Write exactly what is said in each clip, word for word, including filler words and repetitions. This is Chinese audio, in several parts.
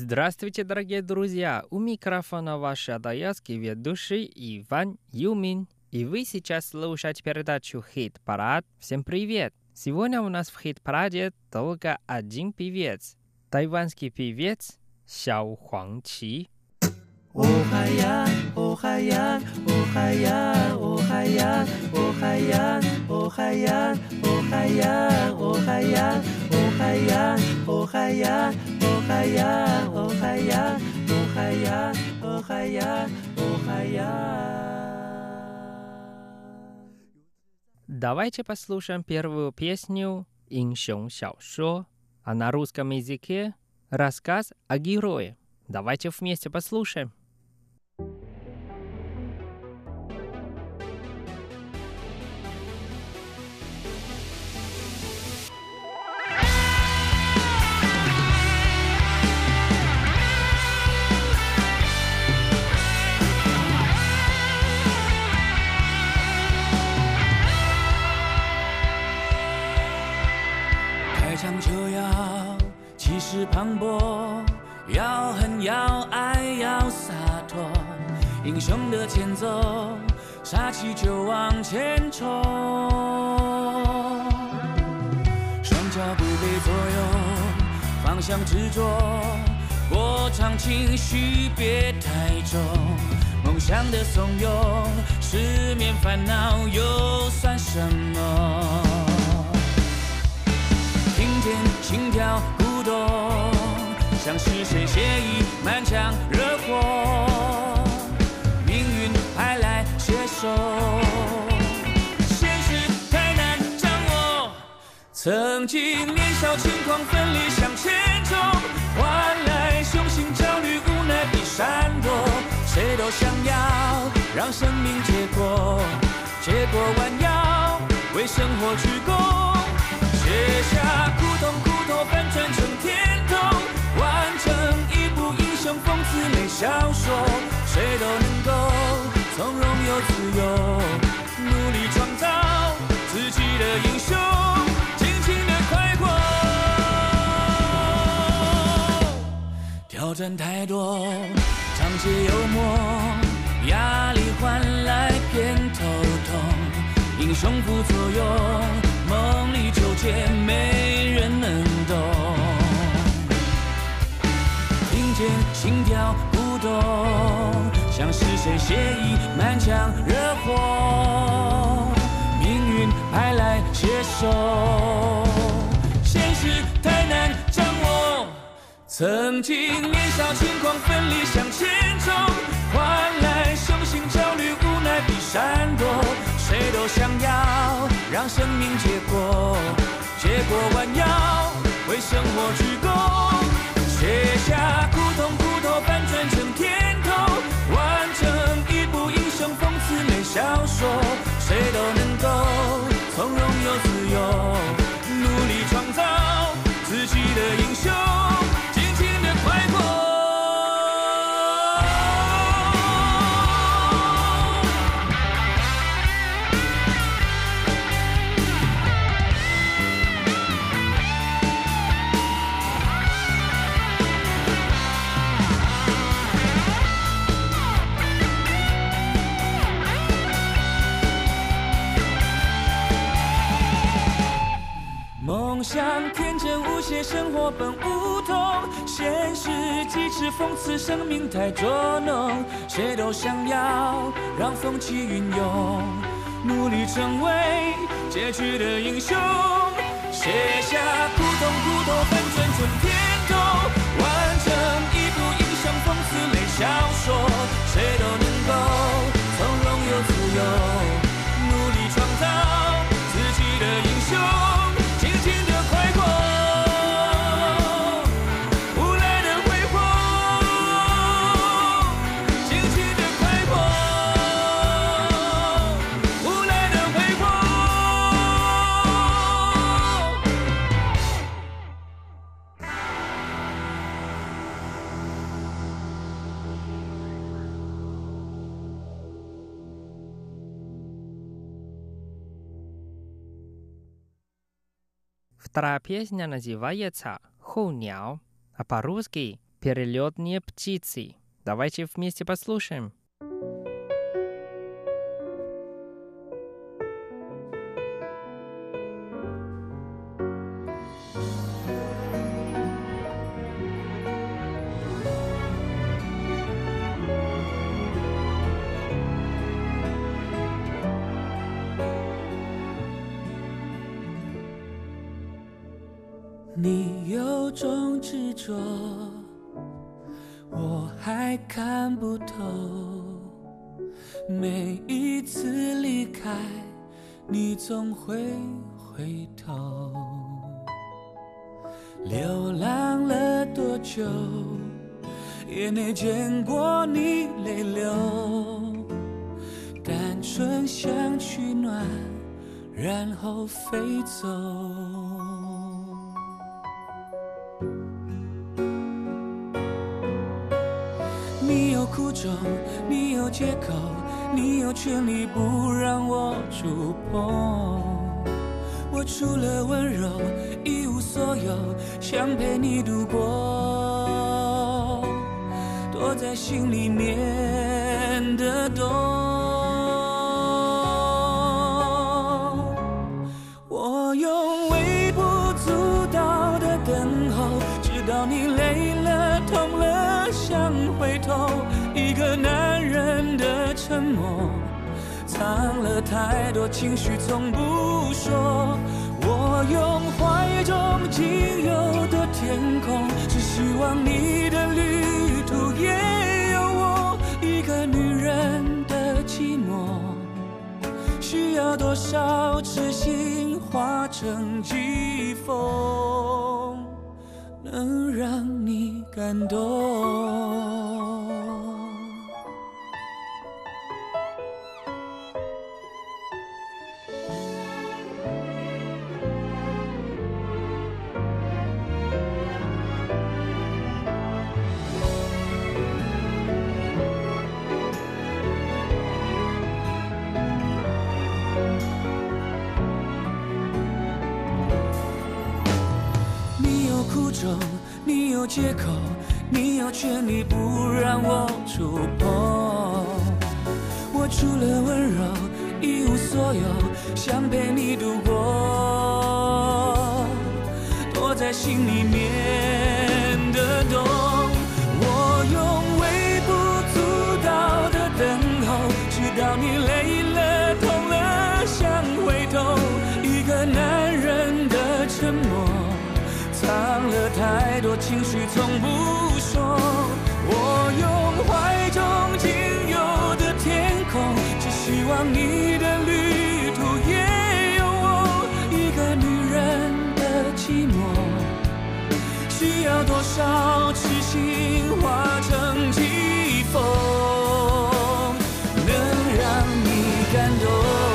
Здравствуйте, дорогие друзья! У микрофона ваш адаятский ведущий Иван Юмин. И вы сейчас слушаете передачу «Хит-парад». Всем привет! Сегодня у нас в «Хит-параде» только один певец. Тайванский певец Сяо Хуангqi. Охаян, охаян, охаян, охаян, охаян, охаян, охаян, охаян, охаян, охаян, охаян, охаян, охаян, охаян, охаян. Давайте послушаем первую песню «Иншон Сяошо», а на русском языке рассказ о герое. Давайте вместе послушаем. 开场就要气势磅礴，要狠要爱要洒脱，英雄的前奏，杀气就往前冲，双脚不被左右，方向执着，过场情绪别太重，梦想的怂恿，失眠烦恼又算什么？听见心跳鼓动，像是谁协议满腔热火，命运派来携手，现实太难掌握。曾经年少轻狂奋力向前冲，换来雄心焦虑无奈地闪躲。谁都想要让生命结果，结果弯腰为生活鞠躬。 卸下苦痛，苦痛翻转成甜痛，完成一部英雄讽刺类小说。谁都能够从容又自由，努力创造自己的英雄，尽情的快活。挑战太多，常见幽默，压力换来偏头痛，英雄副作用。 梦里纠结，没人能懂。听见心跳鼓动，像是谁协议满腔热火，命运派来携手，现实太难掌握。曾经年少轻狂奋力向前冲，换来雄心焦虑无奈地闪躲。 谁都想要让生命结果，结果弯腰为生活鞠躬，卸下苦痛，苦痛翻转成甜头，完成一部英雄讽刺类小说。谁都能够从容又自由，努力创造自己的英雄，尽情的快活。 梦想天真无邪，生活本无痛，现实机智讽刺，生命太捉弄。谁都想要让风起云涌，努力成为结局的英雄。卸下苦痛，苦痛翻转成甜头，完成一部英雄讽刺类小说。谁都能够从容又自由，努力创造自己的英雄。 Вторая песня называется «Хоуняо», а по-русски «Перелетные птицы». Давайте вместе послушаем. 你有种执着，我还看不透。每一次离开，你总会回头。流浪了多久，也没见过你泪流。单纯想取暖，然后飞走。你有苦衷，你有借口，你有权利不让我触碰。我除了温柔一无所有，想陪你度过躲在心里面的洞。我用微不足道的等候，直到你累了痛了想回头。一个男人的沉默，藏了太多情绪从不说。我用怀中仅有的天空，只希望你的旅途也有我。一个女人的寂寞，需要多少痴心化成疾风，能让你感动。你有借口，你有权利不让我触碰。我除了温柔一无所有，想陪你度过躲在心里面的洞。我用微不足道的等候，直到你累了痛了想回头。一个男人的沉默，藏了太多情绪从不说。我用怀中仅有的天空，只希望你的旅途也有我。一个女人的寂寞，需要多少痴心化成疾风，能让你感动。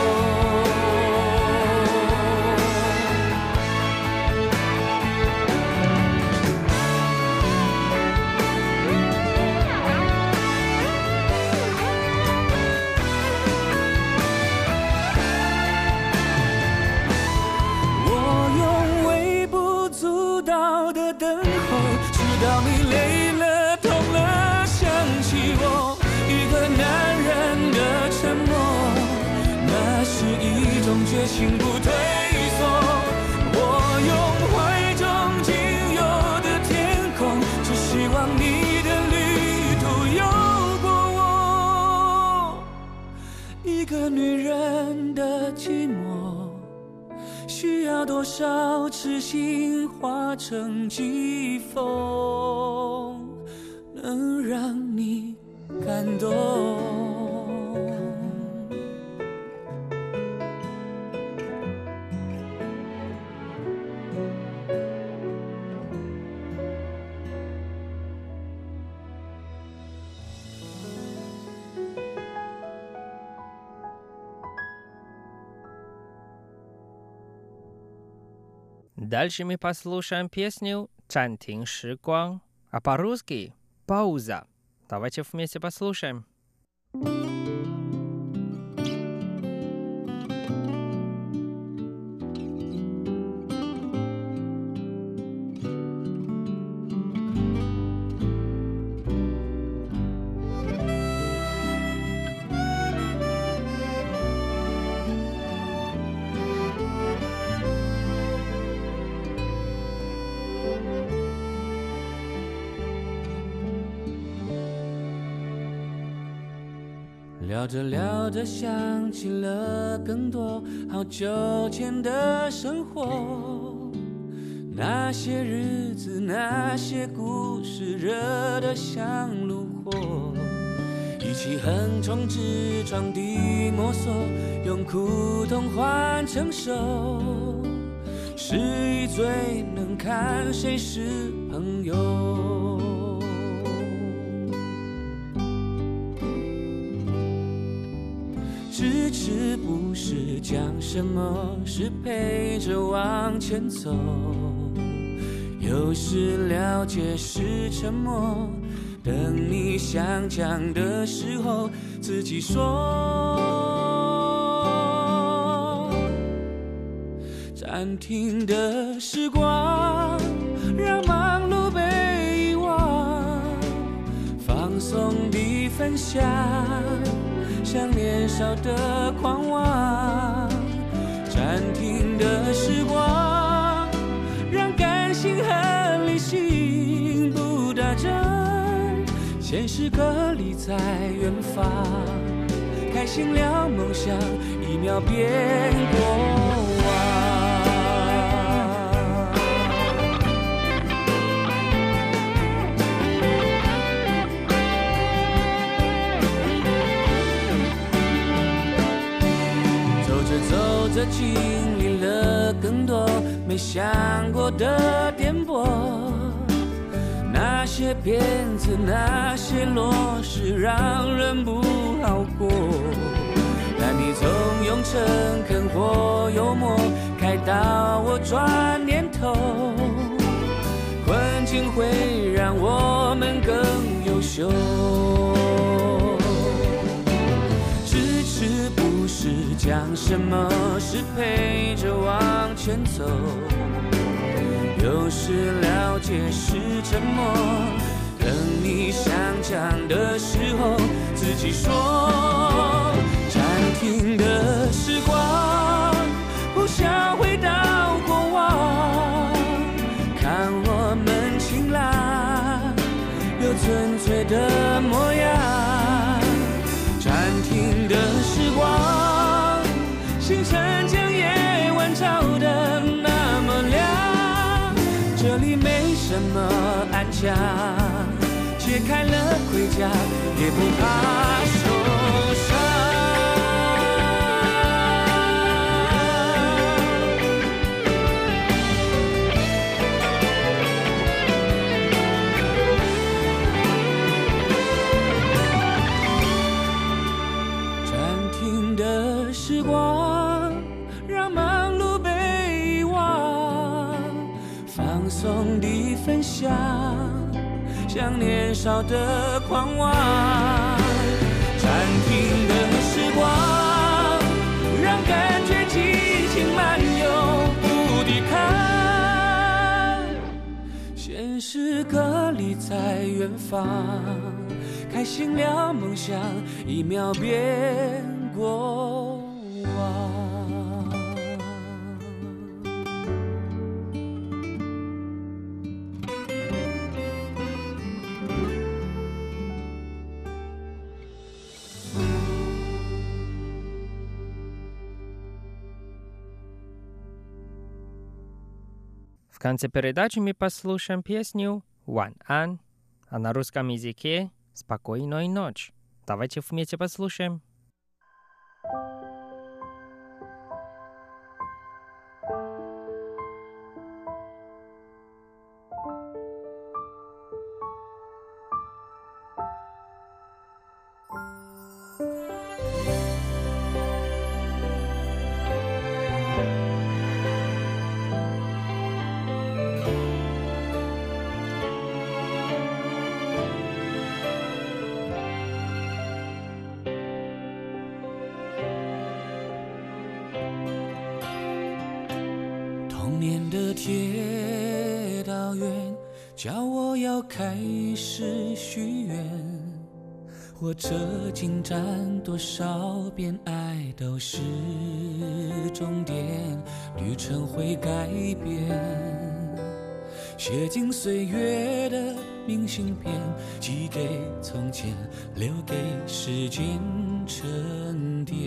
直到你累了痛了想起我。一个男人的沉默，那是一种决心不退缩。我用怀中仅有的天空，只希望你的旅途有过我。一个女人的寂寞，需要多少痴心化成疾风，能让你感动。 Дальше мы послушаем песню «Чантин Шигуан», а по-русски «Пауза». Давайте вместе послушаем. 聊着聊着想起了更多好久前的生活，那些日子那些故事热得像炉火，一起横冲直撞地摸索，用苦痛换成熟，失意最能看谁是朋友。支持不是讲什么，是陪着往前走，有时了解是沉默，等你想讲的时候自己说。暂停的时光让忙碌被遗忘，放松地分享像年少的狂妄。暂停的时光让感性和理性不打针，现实隔离在远方，开心了梦想一秒变过往。走着经历了更多没想过的颠簸，那些骗子那些落实让人不好过，但你总用诚恳或幽默开导我转念头，困境会让我们更优秀。支持不是讲什么，是陪着往前走，有时了解是沉默，等你想讲的时候自己说。暂停的时光不想回到过往，看我们晴朗又纯粹的模样。暂停的时光，星辰将夜晚照得那么亮，这里没什么安详，解开了盔甲也不怕受伤。时光让忙碌被遗忘，放松地分享像年少的狂妄。暂停的时光让感觉激情漫游不抵抗，现实隔离在远方，开心了梦想一秒变过往。 В конце передачи мы послушаем песню «One An», а на русском языке «Спокойной ночи». Давайте вместе послушаем. 铁道员叫我要开始许愿，火车进站多少遍，爱都是终点，旅程会改变。 写进岁月的明信片，寄给从前，留给时间沉淀。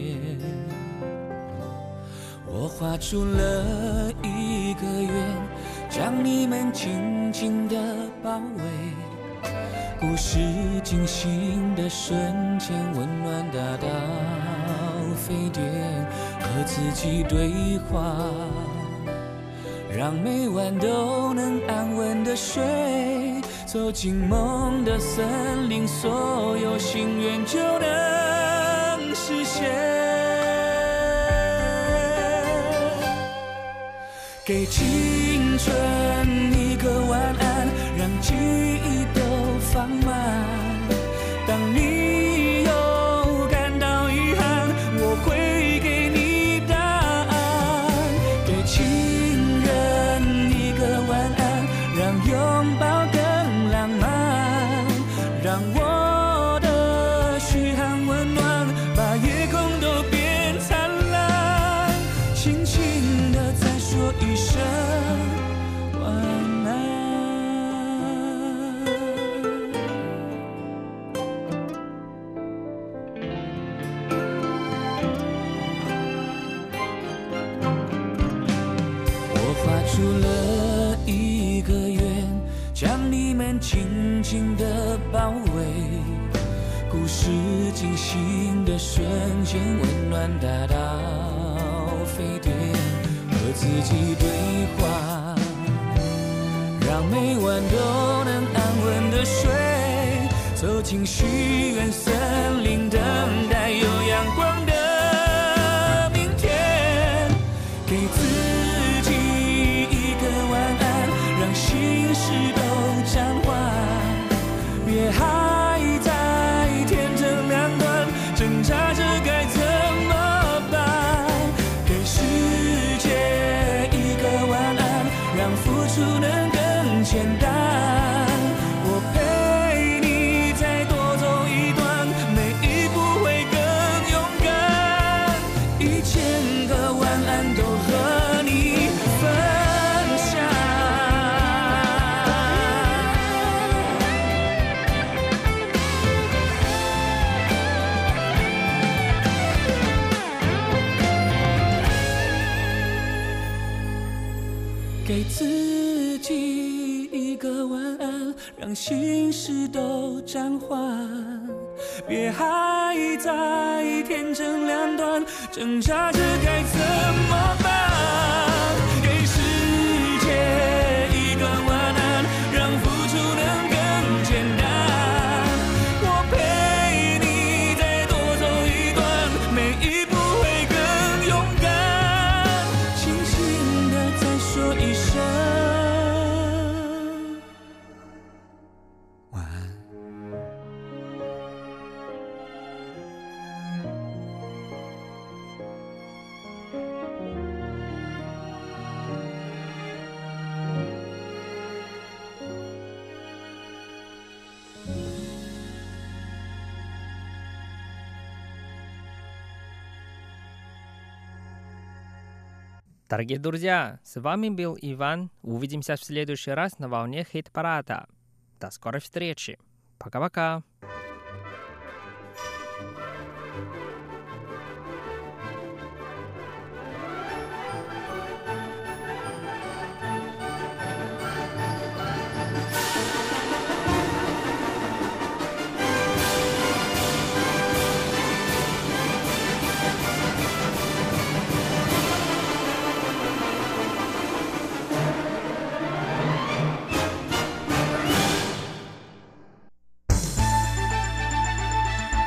我画出了一个圆，将你们紧紧地包围。故事进行的瞬间，温暖大到沸点，和自己对话，让每晚都能安稳的睡。走进梦的森林，所有心愿就能实现。给青春一个晚安，让记忆都放慢。当你有感到遗憾，我会给你答案。给情人一个晚安，让拥抱更浪漫，让我的嘘寒问暖，把夜空都变灿烂。轻轻地再说一声晚安。我画出了一个圆，将你们紧紧地包围。故事进行的瞬间，温暖大到沸点，和自己对话，让每晚都能安稳的睡。走进许愿森林，等待有阳光的明天。给自己一个晚安，让心事都暂缓。别还在天真两端，挣扎着该怎么办。给世界一个晚安，让付出能更简单。我陪你再多走一段，每一步会更勇敢。一千个晚安都和你分享。给自己一个晚安，让心事都暂缓。别还在天真两端，挣扎着该怎么办。给世界一个晚安，让付出能更简单。我陪你再多走一段，每一步会更勇敢。轻轻地再说一声晚安。 Дорогие друзья, с вами был Иван. Увидимся в следующий раз на волне хит-парада. До скорой встречи. Пока-пока.